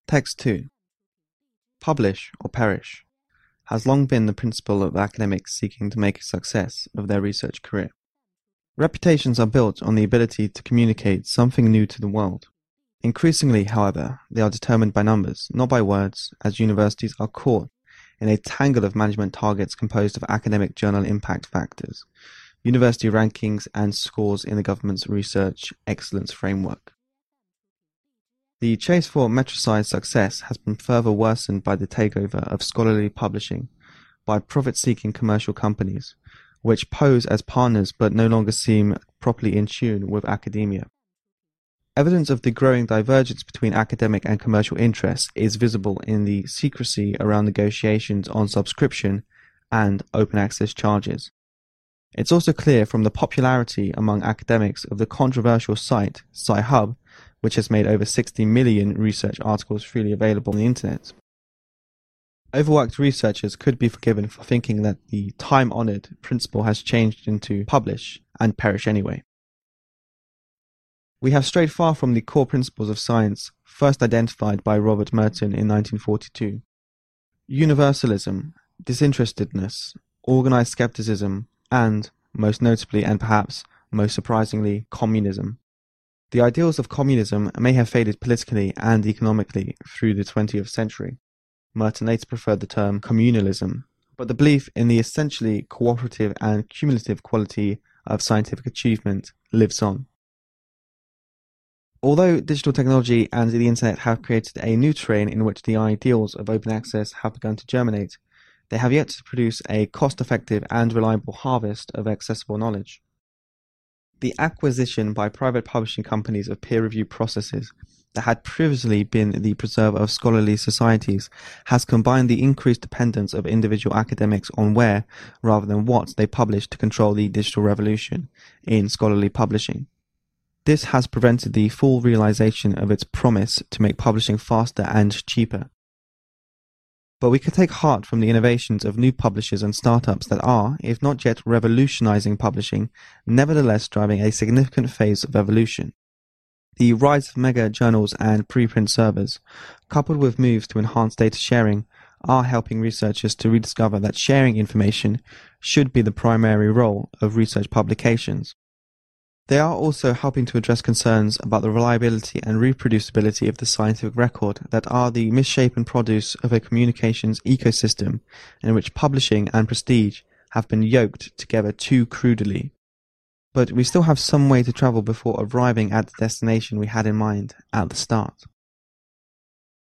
Text 2. Publish or perish has long been the principle of academics seeking to make a success of their research career. Reputations are built on the ability to communicate something new to the world. Increasingly, however, they are determined by numbers, not by words, as universities are caught in a tangle of management targets composed of academic journal impact factors, university rankings, and scores in the government's research excellence framework. The chase for metricized success has been further worsened by the takeover of scholarly publishing by profit-seeking commercial companies, which pose as partners but no longer seem properly in tune with academia. Evidence of the growing divergence between academic and commercial interests is visible in the secrecy around negotiations on subscription and open access charges. It's also clear from the popularity among academics of the controversial site Sci-Hub, which has made over 60 million research articles freely available on the internet. Overworked researchers could be forgiven for thinking that the time-honored principle has changed into publish and perish anyway. We have strayed far from the core principles of science first identified by Robert Merton in 1942. Universalism, disinterestedness, organized skepticism, and, most notably and perhaps most surprisingly, communism. The ideals of communism may have faded politically and economically through the 20th century. Merton later preferred the term communalism, but the belief in the essentially cooperative and cumulative quality of scientific achievement lives on. Although digital technology and the internet have created a new terrain in which the ideals of open access have begun to germinate, they have yet to produce a cost-effective and reliable harvest of accessible knowledge. The acquisition by private publishing companies of peer-review processes that had previously been the preserve of scholarly societies has combined the increased dependence of individual academics on where, rather than what, they publish to control the digital revolution in scholarly publishing. This has prevented the full realization of its promise to make publishing faster and cheaper. But we can take heart from the innovations of new publishers and startups that are, if not yet revolutionizing publishing, nevertheless driving a significant phase of evolution. The rise of mega journals and preprint servers, coupled with moves to enhance data sharing, are helping researchers to rediscover that sharing information should be the primary role of research publications. They are also helping to address concerns about the reliability and reproducibility of the scientific record that are the misshapen produce of a communications ecosystem in which publishing and prestige have been yoked together too crudely. But we still have some way to travel before arriving at the destination we had in mind at the start.